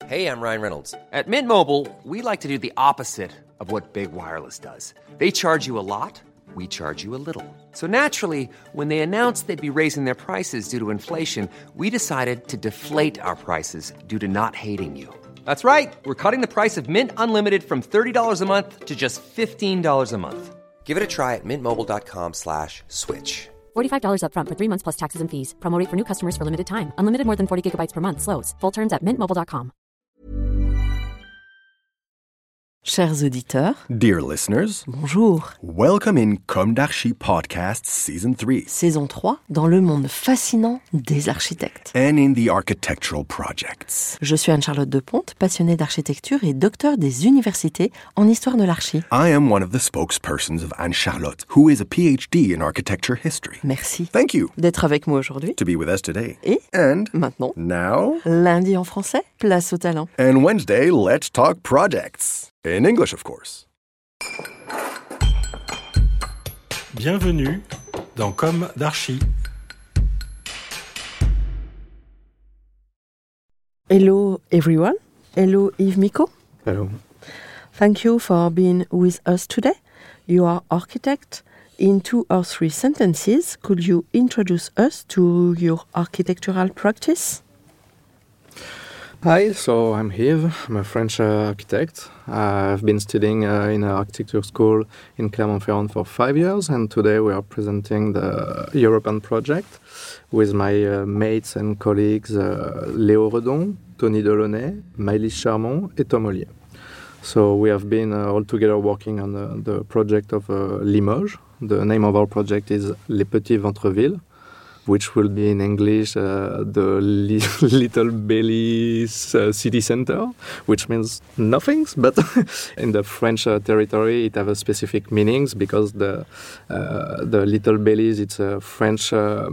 Hey, I'm Ryan Reynolds. At Mint Mobile, we like to do the opposite of what Big Wireless does. They charge you a lot, we charge you a little. So naturally, when they announced they'd be raising their prices due to inflation, we decided to deflate our prices due to not hating you. That's right. We're cutting the price of Mint Unlimited from $30 a month to just $15 a month. Give it a try at mintmobile.com/switch. $45 up front for 3 months plus taxes and fees. Promo rate for new customers for limited time. Unlimited more than 40 gigabytes per month. Slows full terms at mintmobile.com. Chers auditeurs, dear listeners, bonjour. Welcome in Comme d'Archi Podcast Season 3. Saison 3, dans le monde fascinant des architectes. And in the architectural projects. Je suis Anne-Charlotte Deponte, passionnée d'architecture et docteur des universités en histoire de l'archi. I am one of the spokespersons of Anne-Charlotte, who is a PhD in architecture history. Merci. Thank you. D'être avec moi aujourd'hui. To be with us today. Et And maintenant, now, lundi en français, place au talent. And Wednesday, let's talk projects. In English, of course. Bienvenue dans Comme d'Archi. Hello everyone. Hello Yves Miko. Hello. Thank you for being with us today. You are architect. In 2 or 3 sentences, could you introduce us to your architectural practice? Hi, so I'm Yves. I'm a French architect. I've been studying in an architecture school in Clermont-Ferrand for 5 years, and today we are presenting the European project with my mates and colleagues Léo Redon, Tony Delaunay, Maëlys Charmont, and Tom Ollier. So we have been all together working on the project of Limoges. The name of our project is Les Petits Ventrevilles, which will be in English the Little Bellies city center, which means nothing. But in the French territory, it has a specific meanings because the Little Bellies, it's a French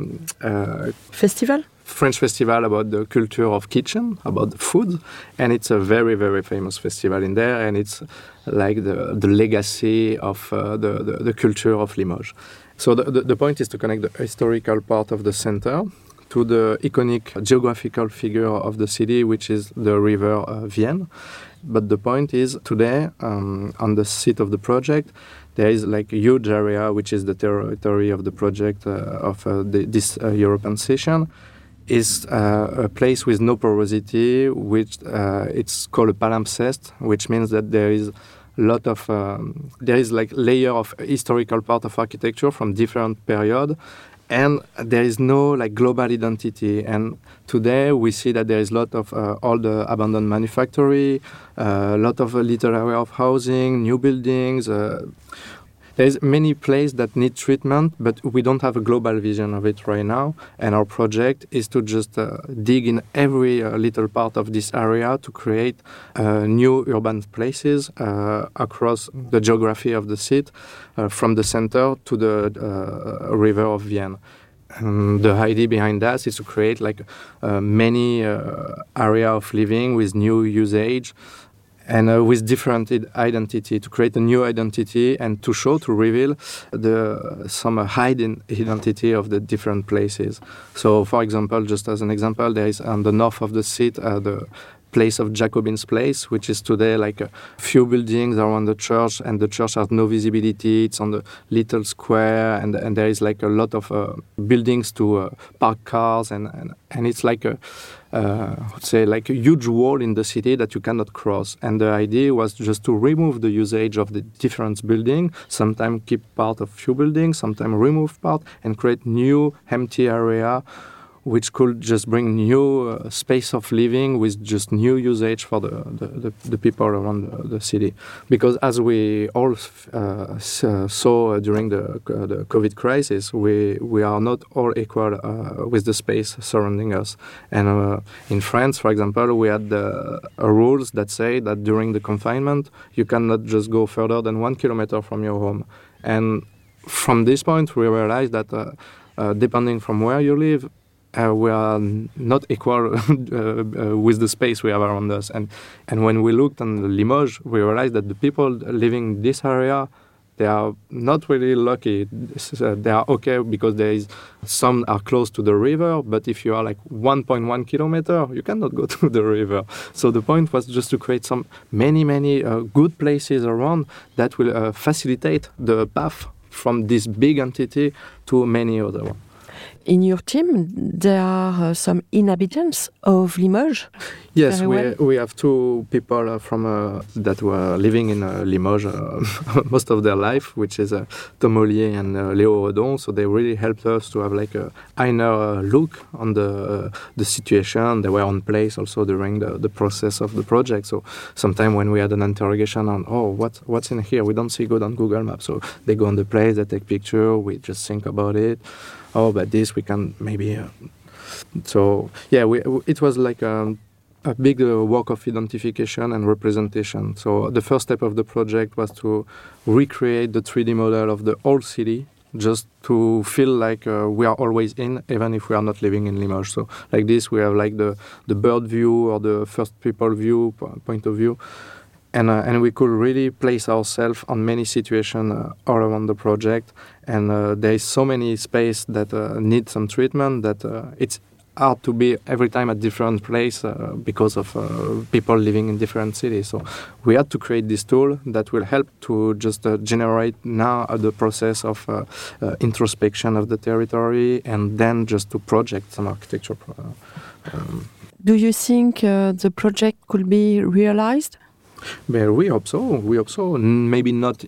festival. French festival about the culture of kitchen, about food, and it's a very, very famous festival in there, and it's like the legacy of the culture of Limoges. So the point is to connect the historical part of the center to the iconic geographical figure of the city, which is the river Vienne. But the point is today, on the seat of the project, there is like a huge area, which is the territory of the project of this European session. Is a place with no porosity, which it's called a palimpsest, which means that there is lot of there is like layer of historical part of architecture from different period, and there is no like global identity. And today we see that there is a lot of all the abandoned manufactory, a lot of little area of housing, new buildings. There's many places that need treatment, but we don't have a global vision of it right now. And our project is to just dig in every little part of this area to create new urban places across the geography of the city, from the center to the river of Vienne. The idea behind that is to create like many area of living with new usage, and with different identity, to create a new identity and to show, to reveal some hidden identity of the different places. So, for example, just as an example, there is on the north of the city the place of Jacobin's Place, which is today like a few buildings around the church, and the church has no visibility. It's on the little square, and there is like a lot of buildings to park cars, and it's like a like a huge wall in the city that you cannot cross. And the idea was just to remove the usage of the different buildings, sometimes keep part of few buildings, sometimes remove part, and create new empty area which could just bring new space of living with just new usage for the people around the city. Because as we all saw during the COVID crisis, we are not all equal with the space surrounding us. And in France, for example, we had rules that say that during the confinement, you cannot just go further than 1 kilometer from your home. And from this point, we realized that depending from where you live, we are not equal with the space we have around us. And when we looked on Limoges, we realized that the people living in this area, they are not really lucky. They are okay because some are close to the river, but if you are like 1.1 kilometer, you cannot go to the river. So the point was just to create some many good places around that will facilitate the path from this big entity to many other ones. In your team, there are some inhabitants of Limoges? Yes, we have two people from that were living in Limoges most of their life, which is Tom Ollier and Léo Redon. So they really helped us to have like a inner look on the situation. They were on place also during the process of the project. So sometime when we had an interrogation on, what's in here? We don't see good on Google Maps. So they go on the place, they take picture, we just think about it. But this we can maybe. It was like a big work of identification and representation. So the first step of the project was to recreate the 3D model of the whole city, just to feel like we are always in, even if we are not living in Limoges. So like this, we have like the bird view or the first people view, point of view. And we could really place ourselves on many situations all around the project. And there is so many space that need some treatment that it's hard to be every time at different place because of people living in different cities. So we had to create this tool that will help to just generate now the process of introspection of the territory and then just to project some architecture. Do you think the project could be realized? Well, we hope so. Maybe not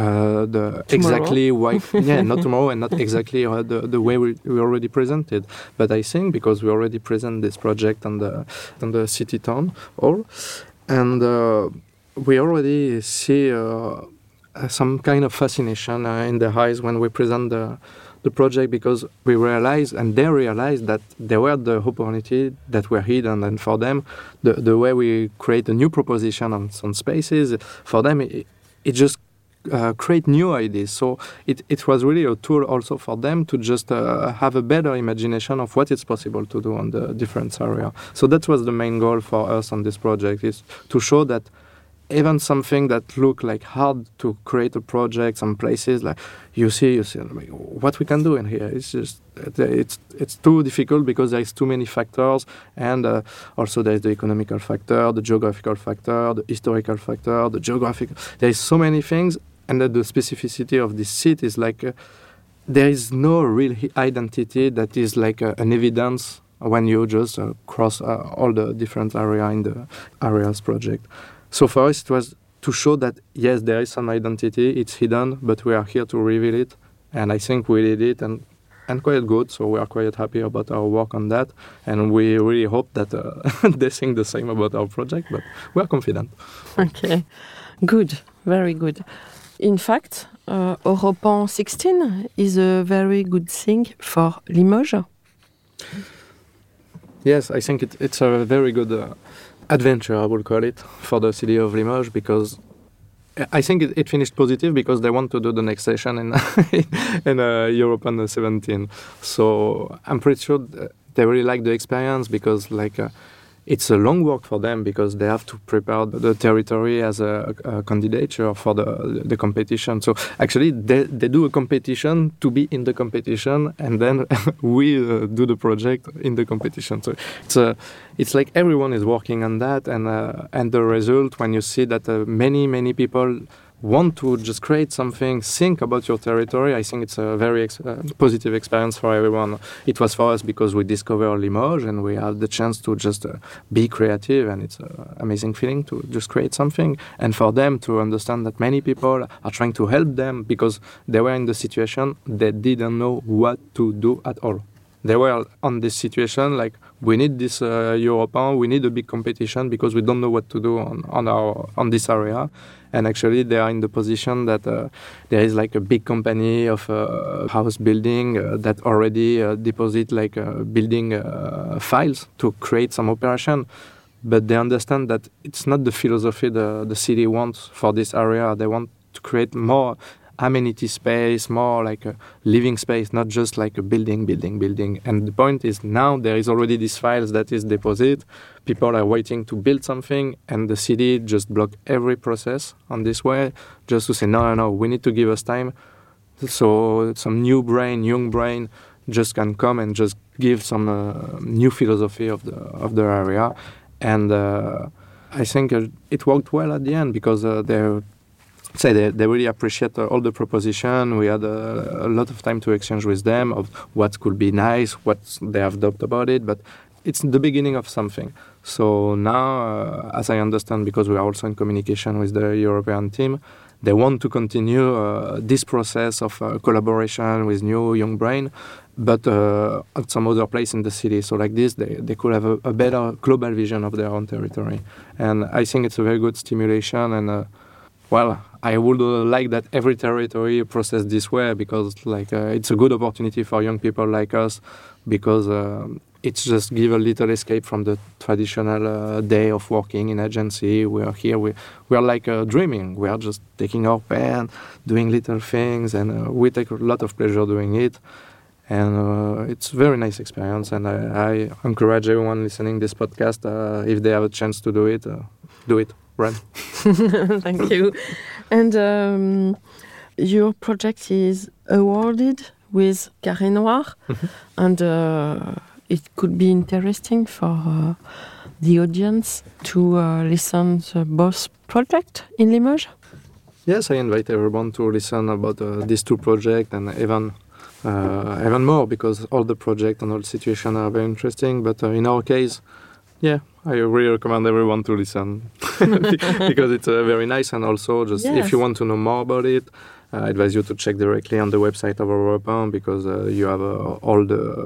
exactly why. Not tomorrow, and not exactly the way we already presented. But I think because we already present this project on the city town hall, and we already see some kind of fascination in their eyes when we present the project, because we realize and they realize that there were the opportunity that were hidden, and for them the way we create a new proposition on some spaces, for them it just create new ideas. So it was really a tool also for them to just have a better imagination of what is possible to do on the different area. So that was the main goal for us on this project, is to show that even something that look like hard to create a project, some places like you see like, what we can do in here. It's just it's too difficult because there is too many factors, and also there is the economical factor, the geographical factor, the historical factor, the geographic. There is so many things, and the specificity of this city is like there is no real identity that is like an evidence when you just cross all the different area in the areas project. So for us, it was to show that, yes, there is some identity, it's hidden, but we are here to reveal it. And I think we did it, and quite good. So we are quite happy about our work on that. And we really hope that they think the same about our project, but we are confident. Okay, good, very good. In fact, Europan 16 is a very good thing for Limoges. Yes, I think it's a very good adventure, I will call it, for the city of Limoges, because I think it finished positive because they want to do the next session in Europan 17. So I'm pretty sure they really like the experience, because it's a long work for them, because they have to prepare the territory as a candidature for the competition. So actually they do a competition to be in the competition, and then we do the project in the competition. So it's like everyone is working on that, and the result, when you see that many people want to just create something, think about your territory, I think it's a very positive experience for everyone. It was for us because we discovered Limoges and we had the chance to just be creative, and it's an amazing feeling to just create something. And for them to understand that many people are trying to help them because they were in the situation they didn't know what to do at all. They were on this situation like, we need this Europan, we need a big competition because we don't know what to do on this area. And actually they are in the position that there is like a big company of house building that already deposit like building files to create some operation. But they understand that it's not the philosophy the city wants for this area. They want to create more amenity space, more like a living space, not just like a building. And the point is now there is already these files that is deposited. People are waiting to build something, and the city just block every process on this way, just to say, no, we need to give us time. So some young brain just can come and just give some new philosophy of the area. And I think it worked well at the end, because they really appreciate all the proposition. We had a lot of time to exchange with them of what could be nice, what they have doubt about it, but it's the beginning of something. So now, as I understand, because we are also in communication with the European team, they want to continue this process of collaboration with new young brain, but at some other place in the city. So like this, they could have a better global vision of their own territory. And I think it's a very good stimulation. And I would like that every territory process this way, because it's a good opportunity for young people like us, because it's just give a little escape from the traditional day of working in agency. We are here, we are like dreaming. We are just taking our pen, doing little things, and we take a lot of pleasure doing it. And it's a very nice experience, and I encourage everyone listening this podcast, if they have a chance to do it, run. Thank you. And your project is awarded with Carré Noir, and it could be interesting for the audience to listen to both projects in Limoges. Yes, I invite everyone to listen about these two projects, and even more, because all the projects and all situations are very interesting. But in our case, I really recommend everyone to listen because it's very nice. And also, just if you want to know more about it, I advise you to check directly on the website of Europan, because you have all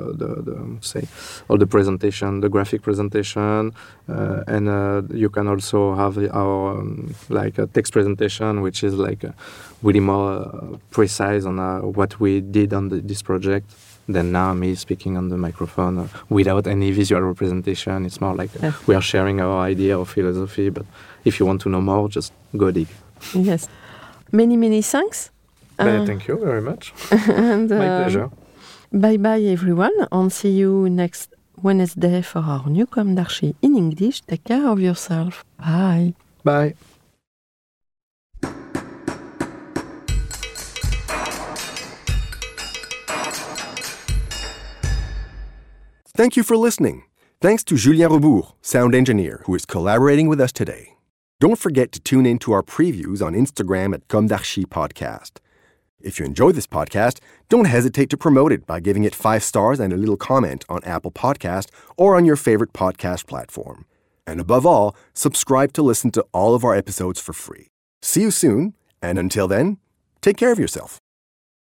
the presentation, the graphic presentation, and you can also have our a text presentation, which is really more precise on what we did on this project than now me speaking on the microphone without any visual representation. It's more we are sharing our idea or philosophy. But if you want to know more, just go dig. Yes. Many thanks. Thank you very much. And, my pleasure. Bye everyone, and see you next Wednesday for our new Comme d'Archi in English. Take care of yourself. Bye. Bye. Thank you for listening. Thanks to Julien Rebourg, sound engineer, who is collaborating with us today. Don't forget to tune in to our previews on Instagram at Comme d'Archi Podcast. If you enjoy this podcast, don't hesitate to promote it by giving it 5 stars and a little comment on Apple Podcast or on your favorite podcast platform. And above all, subscribe to listen to all of our episodes for free. See you soon, and until then, take care of yourself.